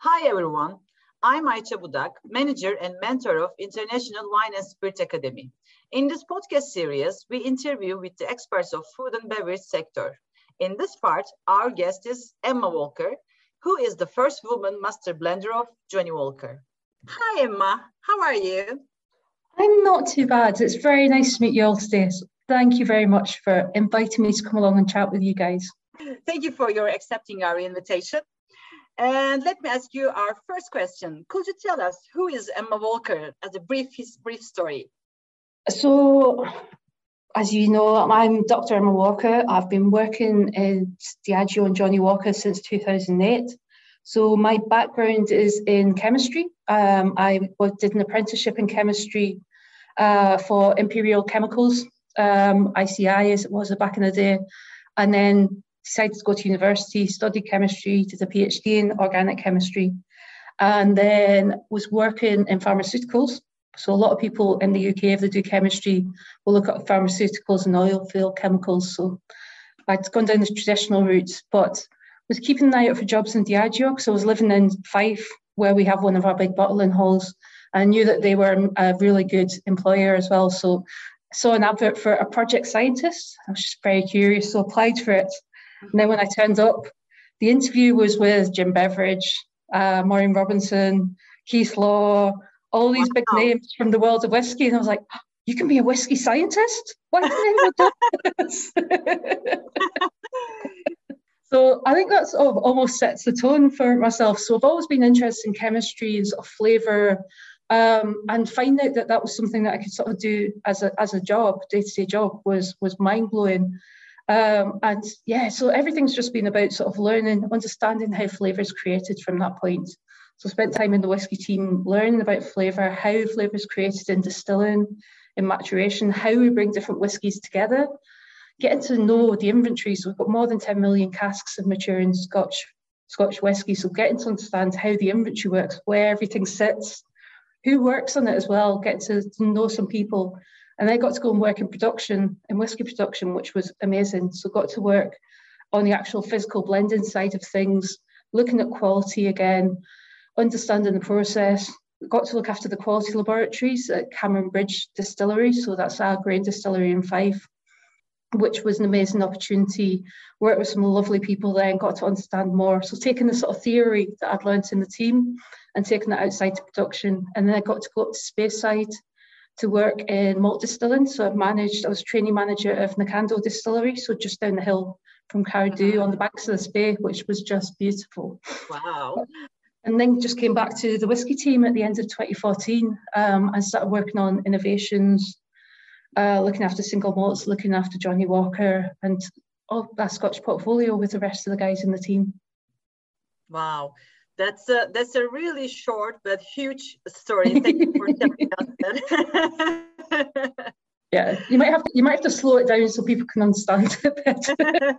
Hi everyone, I'm Ayça Budak, manager and mentor of International Wine and Spirit Academy. In this podcast series, we interview with the experts of food and beverage sector. In this part, our guest is Emma Walker, who is the first woman master blender of Johnnie Walker. Hi Emma, how are you? I'm not too bad. It's very nice to meet you all today. So thank you very much for inviting me to come along and chat with you guys. Thank you for your accepting our invitation. And let me ask you our first question. Could you tell us who is Emma Walker as a brief story? So, as you know, I'm Dr. Emma Walker. I've been working in Diageo and Johnnie Walker since 2008. So my background is in chemistry. I did an apprenticeship in chemistry for Imperial Chemicals, ICI as it was back in the day, and then decided to go to university, studied chemistry, did a PhD in organic chemistry, and then was working in pharmaceuticals. So a lot of people in the UK, if they do chemistry, will look at pharmaceuticals and oil field chemicals. So I'd gone down the traditional routes, but was keeping an eye out for jobs in Diageo because I was living in Fife, where we have one of our big bottling halls. And I knew that they were a really good employer as well. So I saw an advert for a project scientist. I was just very curious, so applied for it. And then when I turned up, the interview was with Jim Beveridge, Maureen Robinson, Keith Law, all these big names from the world of whiskey. And I was like, you can be a whiskey scientist? Why didn't anyone do this? So I think that sort of almost sets the tone for myself. So I've always been interested in chemistry and sort of flavour, and finding out that was something that I could sort of do as a job, day-to-day job, was mind-blowing. And yeah, so everything's just been about sort of learning, understanding how flavour is created from that point. So I spent time in the whisky team learning about flavour, how flavour is created in distilling, in maturation, how we bring different whiskies together, getting to know the inventory. So we've got more than 10 million casks of maturing Scotch whisky. So getting to understand how the inventory works, where everything sits, who works on it as well, getting to know some people. And I got to go and work in production, in whisky production, which was amazing. So got to work on the actual physical blending side of things, looking at quality again, understanding the process. Got to look after the quality laboratories at Cameron Bridge Distillery. So that's our grain distillery in Fife, which was an amazing opportunity. Worked with some lovely people there and got to understand more. So taking the sort of theory that I'd learned in the team and taking that outside to production. And then I got to go up to Speyside to work in malt distilling. So I was trainee manager of Nakando Distillery, so just down the hill from Cardew on the banks of the Spey, which was just beautiful. Wow. And then just came back to the whisky team at the end of 2014 and started working on innovations, looking after single malts, looking after Johnnie Walker and all that Scotch portfolio with the rest of the guys in the team. Wow. That's a really short but huge story. Thank you for telling us that. Yeah, you might have to slow it down so people can understand it better.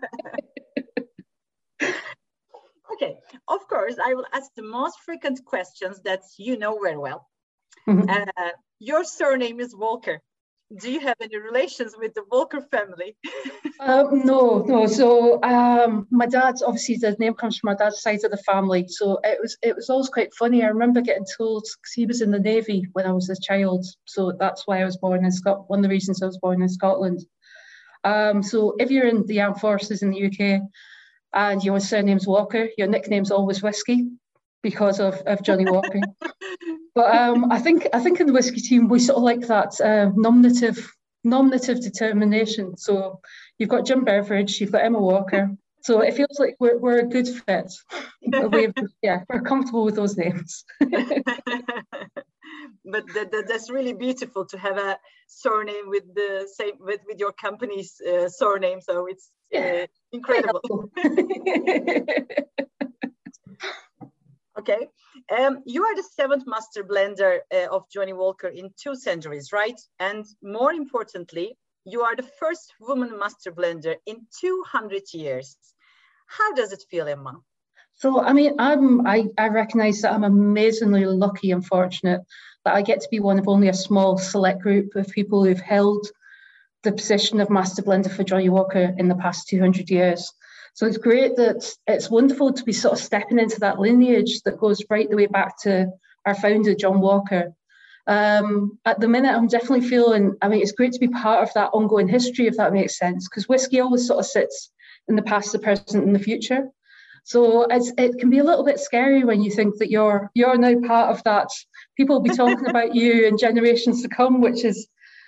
Okay, of course, I will ask the most frequent questions that you know very well. Your surname is Walker. Do you have any relations with the Walker family? No. So my dad's, obviously the name comes from my dad's side of the family. So it was always quite funny. I remember getting told, because he was in the Navy when I was a child. So that's why I was born in Scotland. One of the reasons I was born in Scotland. So if you're in the armed forces in the UK and your surname's Walker, your nickname's always Whiskey because of Johnnie Walker. But I think in the whisky team we sort of like that nominative determination. So you've got Jim Beveridge, you've got Emma Walker. So it feels like we're a good fit. We're comfortable with those names. But that's really beautiful to have a surname with the same with your company's surname. So it's incredible. Okay, you are the 7th master blender of Johnnie Walker in 2 centuries, right? And more importantly, you are the first woman master blender in 200 years. How does it feel, Emma? So, I mean, I recognise that I'm amazingly lucky and fortunate that I get to be one of only a small select group of people who've held the position of master blender for Johnnie Walker in the past 200 years. So it's great that it's wonderful to be sort of stepping into that lineage that goes right the way back to our founder, John Walker. At the minute, I'm definitely feeling, I mean, it's great to be part of that ongoing history, if that makes sense, because whiskey always sort of sits in the past, the present, and the future. So it can be a little bit scary when you think that you're now part of that. People will be talking about you in generations to come, which is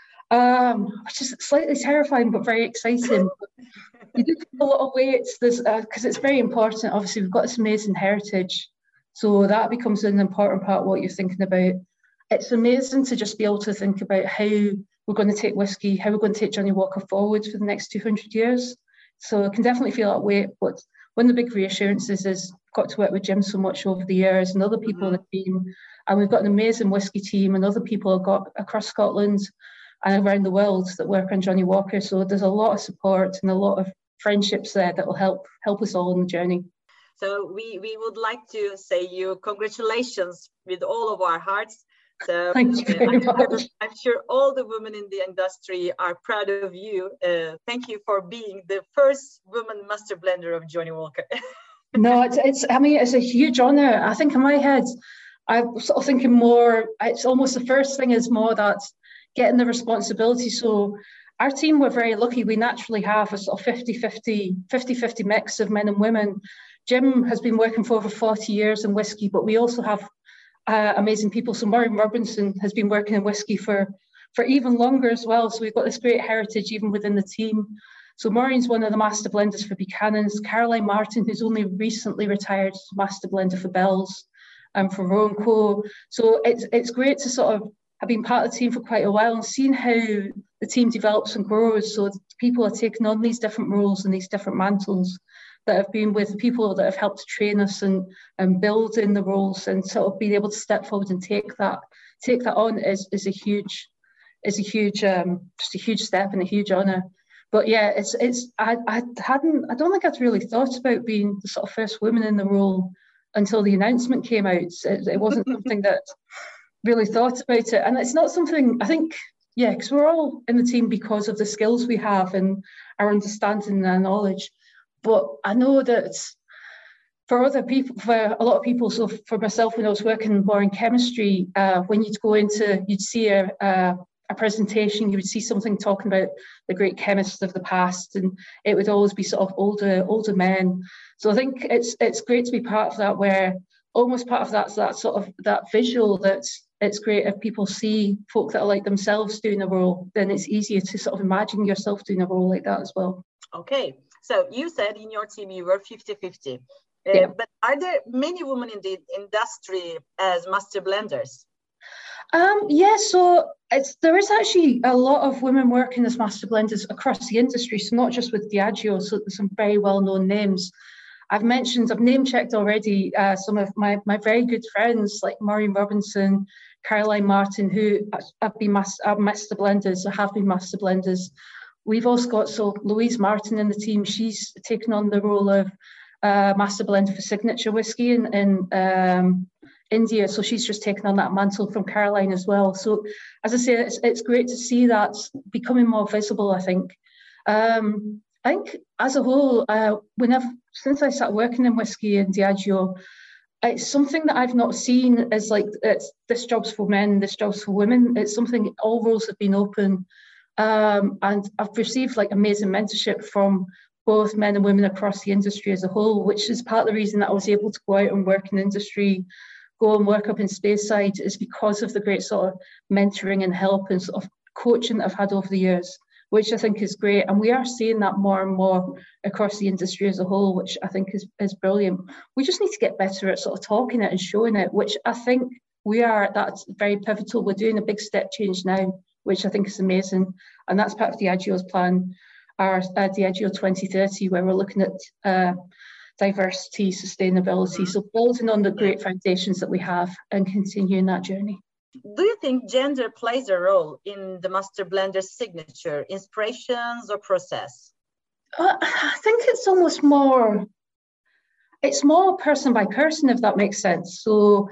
slightly terrifying but very exciting. You do feel a lot of weight because it's very important. Obviously, we've got this amazing heritage, so that becomes an important part of what you're thinking about. It's amazing to just be able to think about how we're going to take whiskey, how we're going to take Johnnie Walker forward for the next 200 years. So I can definitely feel that weight. But one of the big reassurances is I've got to work with Jim so much over the years and other people in the team. And we've got an amazing whiskey team and other people have got across Scotland and around the world that work on Johnnie Walker. So there's a lot of support and a lot of friendships there that will help us all on the journey. So we would like to say you congratulations with all of our hearts. So thank you very much. I'm sure all the women in the industry are proud of you. Thank you for being the first woman master blender of Johnnie Walker. No, it's a huge honour. I think in my head, I'm sort of thinking more, it's almost the first thing is more that getting the responsibility. So our team, we're very lucky. We naturally have a sort of 50-50 mix of men and women. Jim has been working for over 40 years in whiskey, but we also have amazing people. So Maureen Robinson has been working in whiskey for even longer as well. So we've got this great heritage even within the team. So Maureen's one of the master blenders for Buchanan's. Caroline Martin, who's only recently retired, is master blender for Bell's and for Roe & Co. So it's great to sort of have been part of the team for quite a while and seeing how the team develops and grows. So people are taking on these different roles and these different mantles that have been with people that have helped train us and build in the roles, and sort of being able to step forward and take that on is a huge step and a huge honour. But yeah, I don't think I'd really thought about being the sort of first woman in the role until the announcement came out. It wasn't something that really thought about it, and it's not something I think. Yeah, because we're all in the team because of the skills we have and our understanding and our knowledge. But I know that for other people, for a lot of people, so for myself, when I was working more in chemistry, when you'd see a presentation, you would see something talking about the great chemists of the past, and it would always be sort of older men. So I think it's great to be part of that, where almost part of that visual that it's great if people see folk that are like themselves doing a role, then it's easier to sort of imagine yourself doing a role like that as well. Okay, so you said in your team you were 50-50, Yeah. But are there many women in the industry as master blenders? Yeah, so there is actually a lot of women working as master blenders across the industry, so not just with Diageo, so there's some very well-known names. I've name-checked already some of my very good friends like Maureen Robinson, Caroline Martin, who have been master blenders or have been master blenders. We've also got Louise Martin in the team. She's taken on the role of master blender for Signature Whiskey in India. So she's just taken on that mantle from Caroline as well. So as I say, it's great to see that becoming more visible, I think. I think as a whole, since I started working in whiskey in Diageo, it's something that I've not seen as like, this job's for men, this job's for women. It's something, all roles have been open. And I've received like amazing mentorship from both men and women across the industry as a whole, which is part of the reason that I was able to go out and work in industry, go and work up in Speyside, is because of the great sort of mentoring and help and sort of coaching that I've had over the years, which I think is great. And we are seeing that more and more across the industry as a whole, which I think is brilliant. We just need to get better at sort of talking it and showing it, which I think we are. That's very pivotal. We're doing a big step change now, which I think is amazing. And that's part of Diageo's plan, our Diageo 2030, where we're looking at diversity, sustainability. So building on the great foundations that we have and continuing that journey. Do you think gender plays a role in the master blender's signature, inspirations or process? I think it's almost more, it's more person by person, if that makes sense. So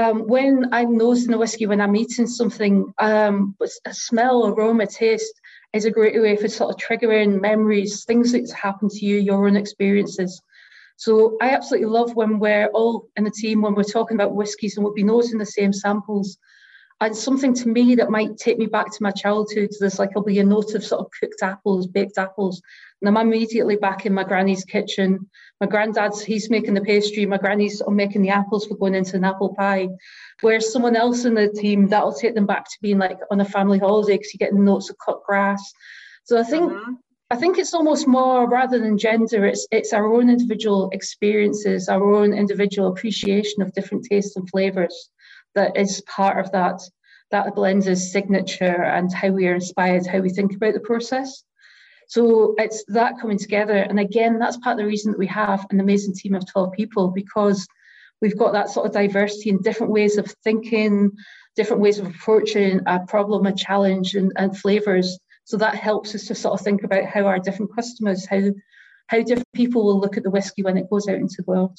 when I'm nosing the whiskey, when I'm eating something, a smell, aroma, taste, is a great way for sort of triggering memories, things that's happened to you, your own experiences. So I absolutely love when we're all in the team, when we're talking about whiskies and we'll be noting the same samples. And something to me that might take me back to my childhood, there's like, there'll be a note of sort of cooked apples, baked apples. And I'm immediately back in my granny's kitchen. My granddad's, he's making the pastry. My granny's sort of making the apples for going into an apple pie. Whereas someone else in the team, that'll take them back to being like on a family holiday because you're getting notes of cut grass. So I think it's almost more, rather than gender, it's our own individual experiences, our own individual appreciation of different tastes and flavours that is part of that blend's signature and how we are inspired, how we think about the process. So it's that coming together. And again, that's part of the reason that we have an amazing team of 12 people, because we've got that sort of diversity in different ways of thinking, different ways of approaching a problem, a challenge, and flavours. So that helps us to sort of think about how our different customers, how different people will look at the whiskey when it goes out into the world.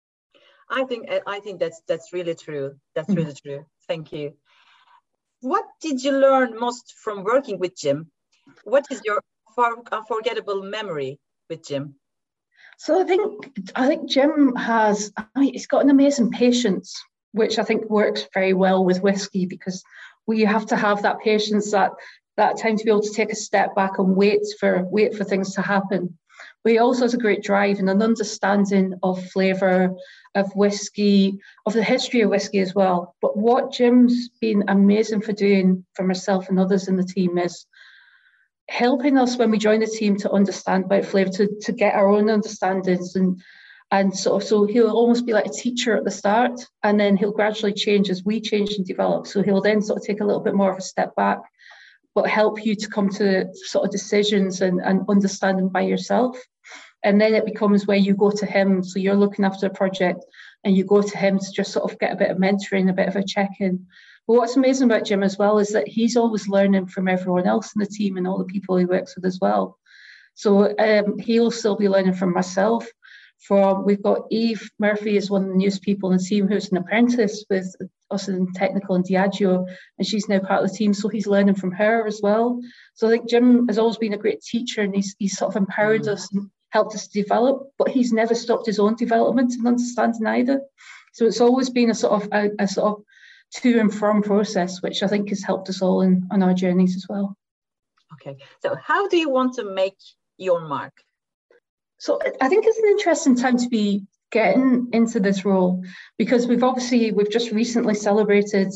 I think that's really true. That's really true. Thank you. What did you learn most from working with Jim? What is your unforgettable memory with Jim? So I think Jim he's got an amazing patience, which I think works very well with whiskey, because we have to have that patience, that time to be able to take a step back and wait for things to happen. But he also has a great drive and an understanding of flavour, of whiskey, of the history of whiskey as well. But what Jim's been amazing for doing for myself and others in the team is helping us when we join the team to understand about flavour, to get our own understandings, and sort of, so he'll almost be like a teacher at the start, and then he'll gradually change as we change and develop. So he'll then sort of take a little bit more of a step back, but help you to come to sort of decisions and understanding by yourself. And then it becomes where you go to him. So you're looking after a project and you go to him to just sort of get a bit of mentoring, a bit of a check-in. But what's amazing about Jim as well is that he's always learning from everyone else in the team and all the people he works with as well. So he'll still be learning from myself. We've got Eve Murphy is one of the newest people in the team who's an apprentice with us in technical and Diageo, and she's now part of the team, so he's learning from her as well. So I think Jim has always been a great teacher, and he's sort of empowered us and helped us to develop, but he's never stopped his own development and understanding either. So it's always been a sort of to and from process, which I think has helped us all on our journeys as well. Okay, so how do you want to make your mark? So I think it's an interesting time to be getting into this role, because we've just recently celebrated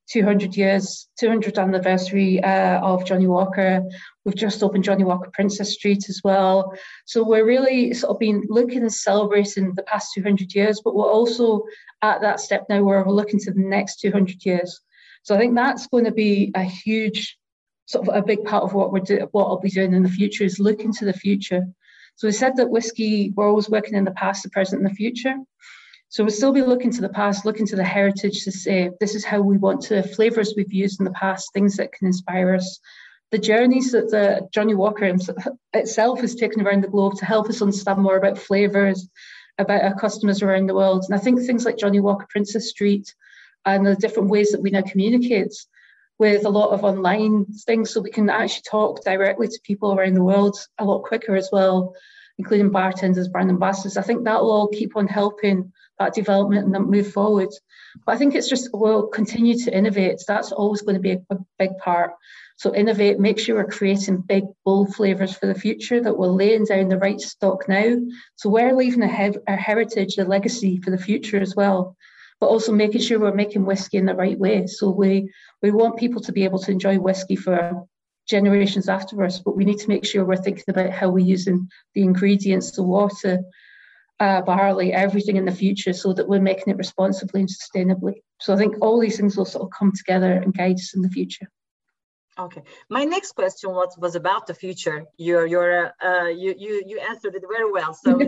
200th anniversary of Johnnie Walker. We've just opened Johnnie Walker Princess Street as well. So we're really sort of been looking and celebrating the past 200 years, but we're also at that step now where we're looking to the next 200 years. So I think that's going to be a huge, sort of a big part of what I'll be doing in the future, is looking to the future. So we said that whiskey, we're always working in the past, the present, and the future. So we'll still be looking to the past, looking to the heritage to say, this is how we want to, flavours we've used in the past, things that can inspire us. The journeys that the Johnnie Walker itself has taken around the globe to help us understand more about flavours, about our customers around the world. And I think things like Johnnie Walker Princess Street and the different ways that we now communicate with a lot of online things, so we can actually talk directly to people around the world a lot quicker as well, including bartenders, brand ambassadors. I think that will all keep on helping that development and that move forward. But I think it's just, we'll continue to innovate. That's always going to be a big part. So innovate, make sure we're creating big, bold flavours for the future, that we're laying down the right stock now. So we're leaving our heritage, a legacy for the future as well, but also making sure we're making whiskey in the right way. So we want people to be able to enjoy whiskey for generations after us, but we need to make sure we're thinking about how we're using the ingredients, the water, barley, everything in the future, so that we're making it responsibly and sustainably. So I think all these things will sort of come together and guide us in the future. Okay, my next question was about the future. You answered it very well. So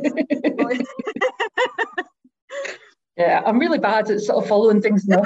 yeah, I'm really bad at sort of following things now.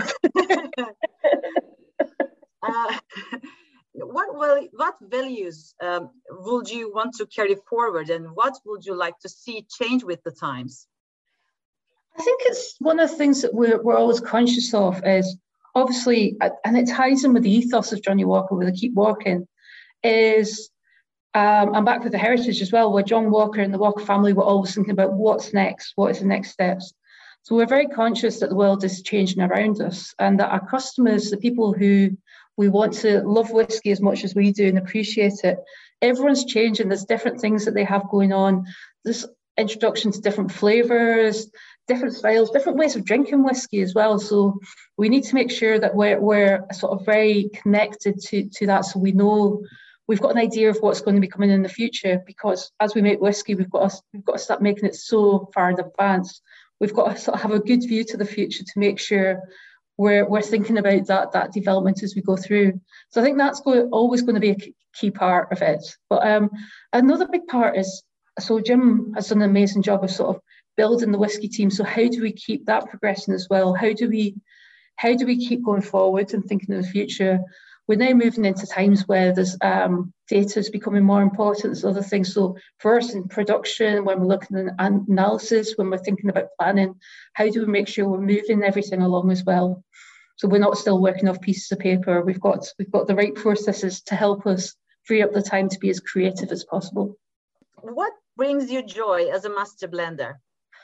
What values would you want to carry forward, and what would you like to see change with the times? I think it's one of the things that we're always conscious of is, obviously, and it ties in with the ethos of Johnnie Walker, with the keep walking, is I'm back with the heritage as well, where John Walker and the Walker family were always thinking about what's next, what is the next steps. So we're very conscious that the world is changing around us and that our customers, the people who we want to love whiskey as much as we do and appreciate it, everyone's changing. There's different things that they have going on. There's introduction to different flavours, different styles, different ways of drinking whiskey as well. So we need to make sure that we're sort of very connected to that, so we know we've got an idea of what's going to be coming in the future, because as we make whiskey, we've got to start making it so far in advance. We've got to sort of have a good view to the future to make sure we're thinking about that development as we go through. So I think that's always going to be a key part of it. But another big part is, so Jim has done an amazing job of sort of building the whiskey team. So how do we keep that progressing as well? How do we keep going forward and thinking of the future? We're now moving into times where there's data is becoming more important than other things. So for us in production, when we're looking at analysis, when we're thinking about planning, how do we make sure we're moving everything along as well? So we're not still working off pieces of paper. We've got the right processes to help us free up the time to be as creative as possible. What brings you joy as a master blender?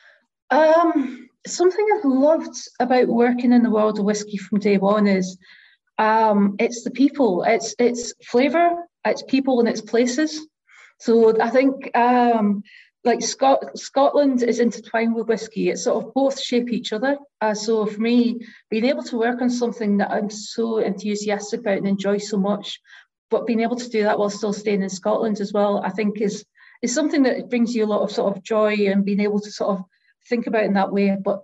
Something I've loved about working in the world of whiskey from day one is it's the people, it's flavour, it's people and it's places. So I think like Scotland is intertwined with whiskey. It sort of both shape each other. So for me, being able to work on something that I'm so enthusiastic about and enjoy so much, but being able to do that while still staying in Scotland as well, I think is something that brings you a lot of sort of joy, and being able to sort of think about it in that way. But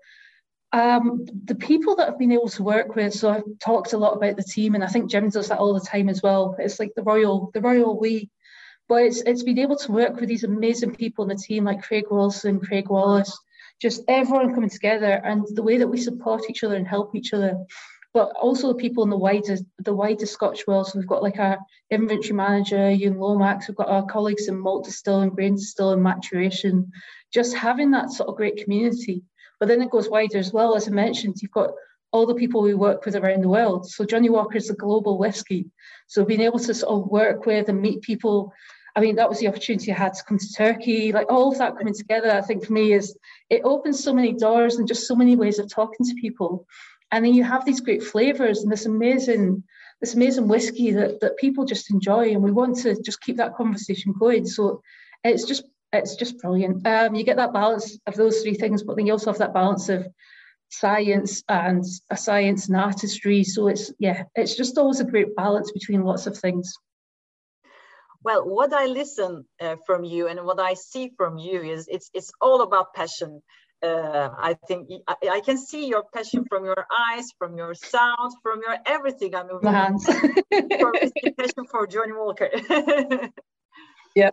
the people that I've been able to work with, so I've talked a lot about the team, and I think Jim does that all the time as well. It's like the royal we, but it's been able to work with these amazing people in the team like Craig Wilson, Craig Wallace, just everyone coming together, and the way that we support each other and help each other. But also the people in the wider Scotch world. So we've got like our inventory manager, Ewan Lomax, we've got our colleagues in malt distilling, grain distilling, maturation, just having that sort of great community. But then it goes wider as well. As I mentioned, you've got all the people we work with around the world. So Johnnie Walker is a global whiskey. So being able to sort of work with and meet people, I mean, that was the opportunity I had to come to Turkey. Like all of that coming together, I think for me it opens so many doors and just so many ways of talking to people. And then you have these great flavours and this amazing whiskey that people just enjoy, and we want to just keep that conversation going. So it's just brilliant. You get that balance of those three things, but then you also have that balance of science and artistry. So it's just always a great balance between lots of things. Well, what I listen from you and what I see from you is it's all about passion. I think I can see your passion from your eyes, from your sound, from your everything. I mean, my hands. For passion for Johnnie Walker. Yeah.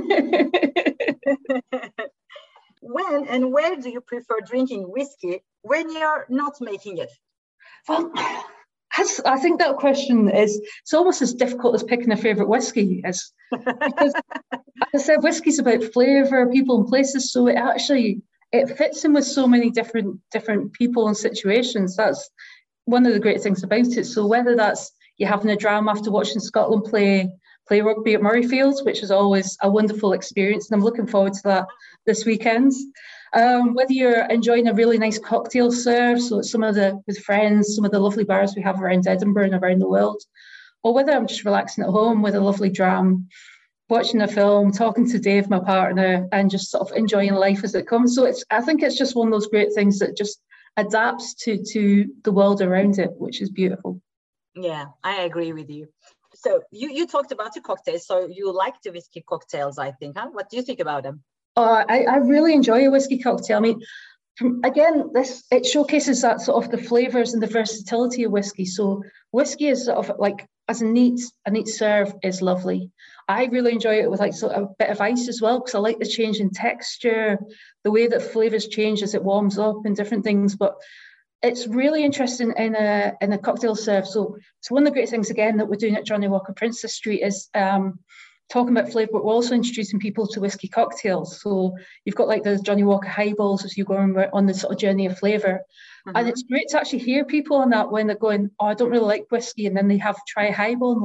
When and where do you prefer drinking whiskey when you're not making it? Well, I think that question it's almost as difficult as picking a favourite whiskey is, because as I said, whiskey's about flavour, people and places. So it fits in with so many different people and situations. That's one of the great things about it. So whether that's you having a dram after watching Scotland play rugby at Murrayfield, which is always a wonderful experience, and I'm looking forward to that this weekend. Whether you're enjoying a really nice cocktail serve, so with friends, some of the lovely bars we have around Edinburgh and around the world, or whether I'm just relaxing at home with a lovely dram, watching a film, talking to Dave, my partner, and just sort of enjoying life as it comes. So I think it's just one of those great things that just adapts to the world around it, which is beautiful. Yeah, I agree with you. So you talked about the cocktails. So you like the whiskey cocktails, I think, huh? What do you think about them? I really enjoy a whiskey cocktail. I mean, again, it showcases that sort of the flavours and the versatility of whiskey. So whiskey is sort of like, as a neat serve is lovely. I really enjoy it with like sort of a bit of ice as well, because I like the change in texture, the way that flavours change as it warms up and different things. But it's really interesting in a cocktail serve. So one of the great things again that we're doing at Johnnie Walker Princess Street is talking about flavour, but we're also introducing people to whiskey cocktails. So you've got like the Johnnie Walker highballs as you go on the sort of journey of flavour. Mm-hmm. And it's great to actually hear people on that when they're going, oh, I don't really like whiskey, and then they try a highball and like,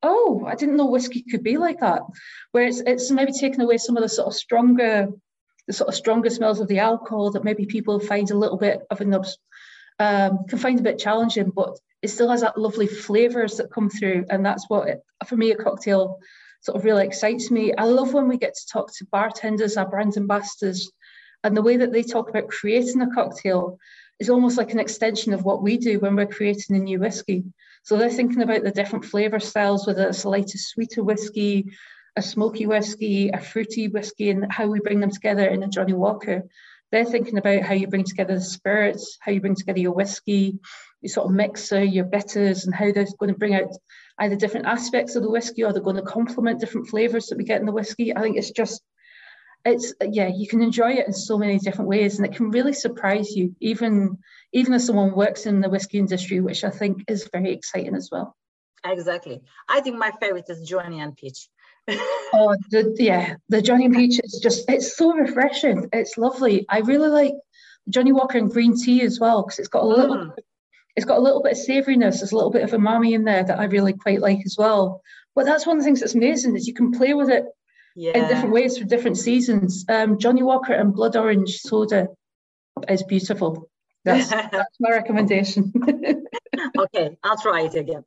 oh, I didn't know whiskey could be like that. Where it's maybe taken away some of the sort of stronger smells of the alcohol that maybe people find a little bit of can find a bit challenging, but it still has that lovely flavors that come through. And that's what, for me, a cocktail sort of really excites me. I love when we get to talk to bartenders, our brand ambassadors, and the way that they talk about creating a cocktail is almost like an extension of what we do when we're creating a new whiskey. So they're thinking about the different flavor styles, whether it's a lighter, sweeter whiskey, a smoky whiskey, a fruity whiskey, and how we bring them together in a Johnnie Walker. They're thinking about how you bring together the spirits, how you bring together your whiskey, your sort of mixer, your bitters, and how they're going to bring out either different aspects of the whiskey or they're going to complement different flavors that we get in the whiskey. I think you can enjoy it in so many different ways, and it can really surprise you, even as someone works in the whiskey industry, which I think is very exciting as well. Exactly. I think my favorite is Johnny and Peach. Oh, the Johnny and Peach is it's so refreshing. It's lovely. I really like Johnnie Walker and green tea as well, because it's got a little bit of savouriness. There's a little bit of umami in there that I really quite like as well. But that's one of the things that's amazing, is you can play with it in different ways for different seasons. Johnnie Walker and blood orange soda is beautiful. That's my recommendation. Okay, I'll try it again.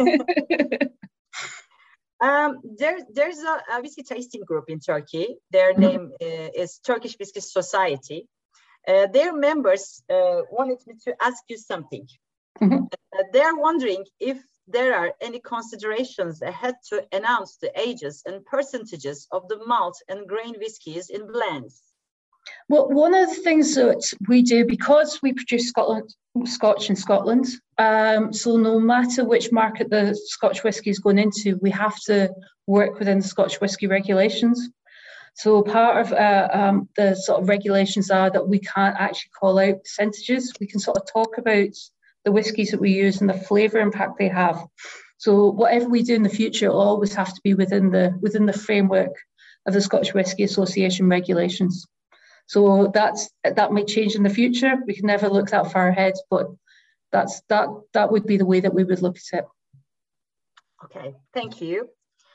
There's a whiskey tasting group in Turkey. Their name is Turkish Whiskey Society. Their members wanted me to ask you something. They're wondering if there are any considerations ahead to announce the ages and percentages of the malt and grain whiskies in blends. Well, one of the things that we do, because we produce Scotch in Scotland, so no matter which market the Scotch whisky is going into, we have to work within the Scotch whisky regulations. So part of the sort of regulations are that we can't actually call out percentages. We can sort of talk about the whiskies that we use and the flavour impact they have. So whatever we do in the future will always have to be within the framework of the Scotch Whisky Association regulations. So that might change in the future. We can never look that far ahead, but that would be the way that we would look at it. Okay, thank you.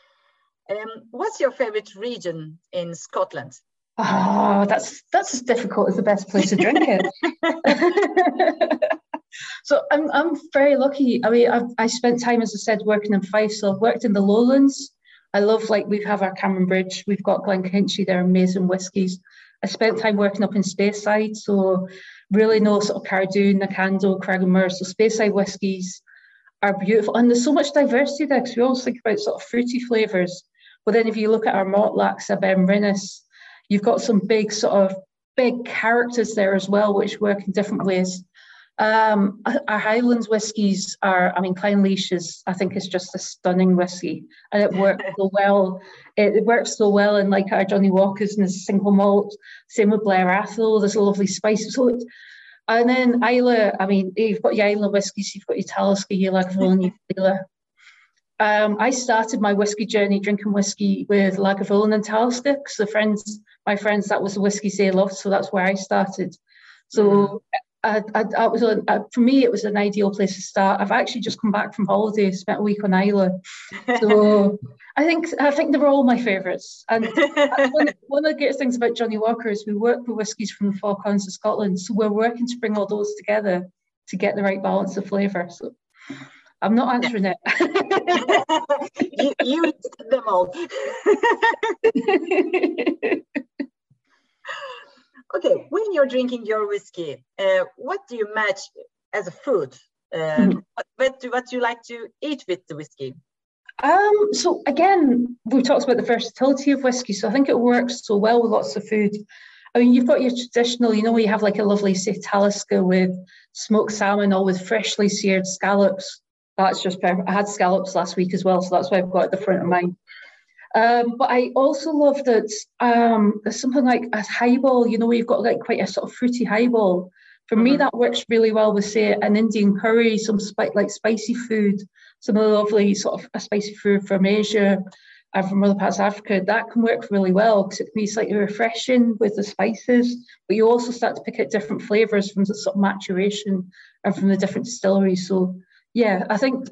What's your favorite region in Scotland? Oh, that's as difficult as the best place to drink it. So I'm very lucky. I mean, I spent time, as I said, working in Fife. So I've worked in the Lowlands. I love, we have our Cameron Bridge. We've got Glenkinchie. They're amazing whiskies. I spent time working up in Speyside. So really know sort of Cardoon, Nakando, Cragganmure. So Speyside whiskies are beautiful. And there's so much diversity there, because we always think about sort of fruity flavours. But then if you look at our Mortlachs, our Benrinnes, you've got some big characters there as well, which work in different ways. Our Highlands whiskies Clynelish I think is just a stunning whiskey, and it works so well. It works so well in our Johnnie Walkers and the single malt. Same with Blair Athol. There's a lovely spice. And then Islay. I mean, you've got your Islay whiskies, you've got your Talisker, your Lagavulin, your Islay. I started my whiskey journey drinking whiskey with Lagavulin and Talisker, because my friends, that was the whiskies they loved, so that's where I started. So. For me, it was an ideal place to start. I've actually just come back from holiday, spent a week on Islay. So I think they're all my favourites. And one of the great things about Johnnie Walker is we work with whiskies from the Four Corners of Scotland. So we're working to bring all those together to get the right balance of flavour. So I'm not answering it. you listed them all. Okay, when you're drinking your whiskey, what do you match as a food? What do you like to eat with the whiskey? So again, we talked about the versatility of whiskey. So I think it works so well with lots of food. I mean, you've got your traditional, you have a lovely, say, Talisker with smoked salmon or with freshly seared scallops. That's just perfect. I had scallops last week as well, so that's why I've got it at the front of mine. But I also love that there's something like a highball, where you've got quite a sort of fruity highball. For me, that works really well with, say, an Indian curry, some spicy food, some of the lovely sort of a spicy food from Asia and from other parts of Africa. That can work really well because it can be slightly refreshing with the spices, but you also start to pick out different flavours from the sort of maturation and from the different distilleries. So, yeah, I think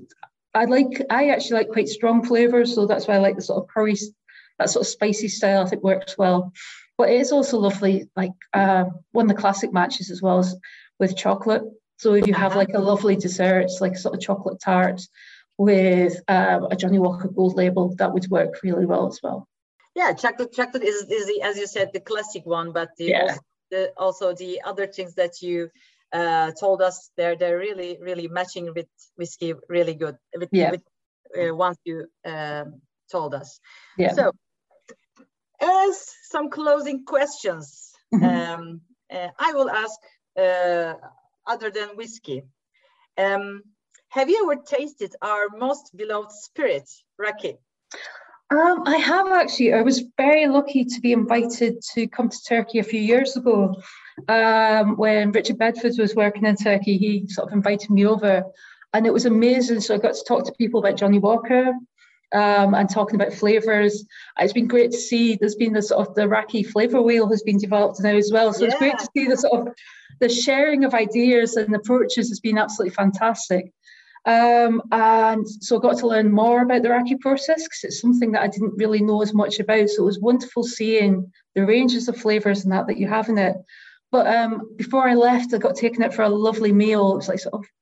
I actually like quite strong flavors, so that's why I like the sort of curry, that sort of spicy style. I think works well. But it is also lovely, like one of the classic matches as well as with chocolate. So if you have like a lovely dessert, it's like sort of chocolate tart with a Johnnie Walker Gold Label, that would work really well as well. Yeah, chocolate is the, as you said, the classic one, but also the other things that you told us, they're really matching with whiskey really good. With once you told us. Yeah. So, as some closing questions, I will ask. Other than whiskey, have you ever tasted our most beloved spirit, raki? I have actually. I was very lucky to be invited to come to Turkey a few years ago. When Richard Bedford was working in Turkey, he sort of invited me over, and it was amazing. So I got to talk to people about Johnnie Walker and talking about flavours. It's been great to see. There's been the sort of the raki flavour wheel has been developed now as well. So it's great to see the sort of the sharing of ideas and approaches has been absolutely fantastic. And so I got to learn more about the raki process because it's something that I didn't really know as much about. So it was wonderful seeing the ranges of flavours and that you have in it. But before I left, I got taken out for a lovely meal. It was like sort of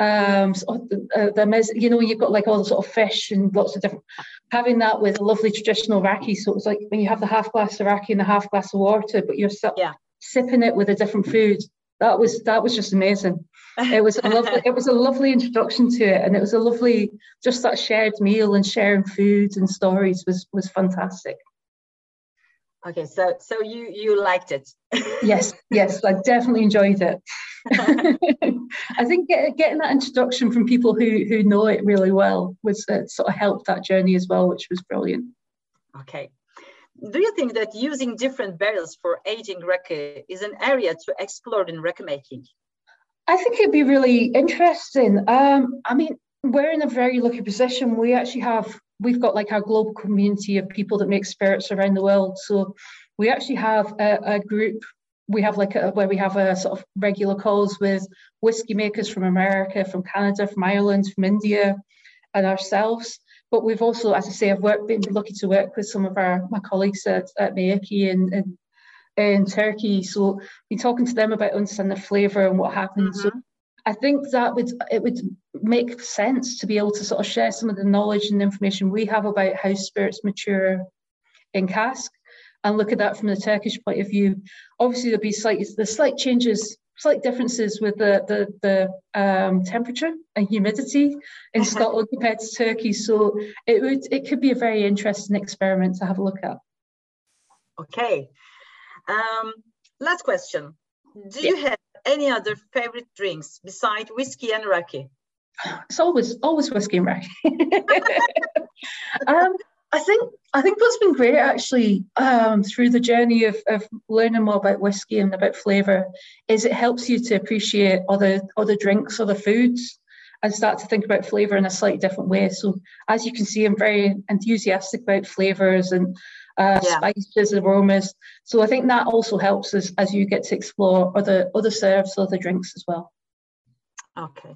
you know, you've got like all the sort of fish and lots of different, having that with a lovely traditional raki. So it was like when you have the half glass of raki and a half glass of water, but you're sipping it with a different food. That was just amazing. It was a lovely introduction to it, and it was a lovely, just that shared meal and sharing foods and stories was fantastic. Okay, so you liked it? Yes, I definitely enjoyed it. I think getting that introduction from people who know it really well was sort of helped that journey as well, which was brilliant. Okay. Do you think that using different barrels for aging raki is an area to explore in raki making? I think it'd be really interesting. I mean, we're in a very lucky position. We've got like our global community of people that make spirits around the world. So we actually have a group. We have where we have a sort of regular calls with whiskey makers from America, from Canada, from Ireland, from India, and ourselves. But we've also, as I say, been lucky to work with some of my colleagues at Meyaki in Turkey. So been talking to them about understanding the flavour and what happens. So I think that it would make sense to be able to sort of share some of the knowledge and information we have about how spirits mature in cask and look at that from the Turkish point of view. Obviously, there'll be slight changes, slight differences with the temperature and humidity in Scotland compared to Turkey. So it could be a very interesting experiment to have a look at. Okay. Last question. Do you have any other favorite drinks besides whiskey and raki? It's always whiskey and raki. I think what's been great actually through the journey of learning more about whiskey and about flavour is it helps you to appreciate other drinks, other foods, and start to think about flavour in a slightly different way. So as you can see, I'm very enthusiastic about flavours and spices, aromas. So I think that also helps as you get to explore other serves, other drinks as well. Okay.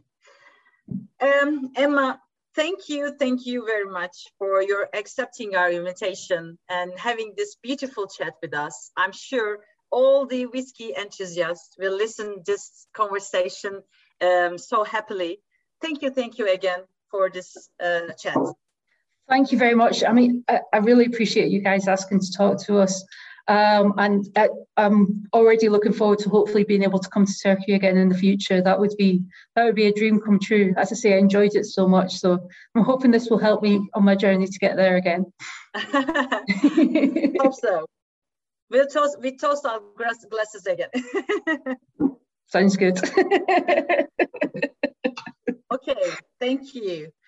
Emma, thank you very much for your accepting our invitation and having this beautiful chat with us. I'm sure all the whiskey enthusiasts will listen to this conversation so happily. Thank you again for this chat. Thank you very much. I mean, I really appreciate you guys asking to talk to us. And I'm already looking forward to hopefully being able to come to Turkey again in the future. That would be a dream come true. As I say, I enjoyed it so much. So I'm hoping this will help me on my journey to get there again. Hope so. We toast our glasses again. Sounds good. Okay, thank you.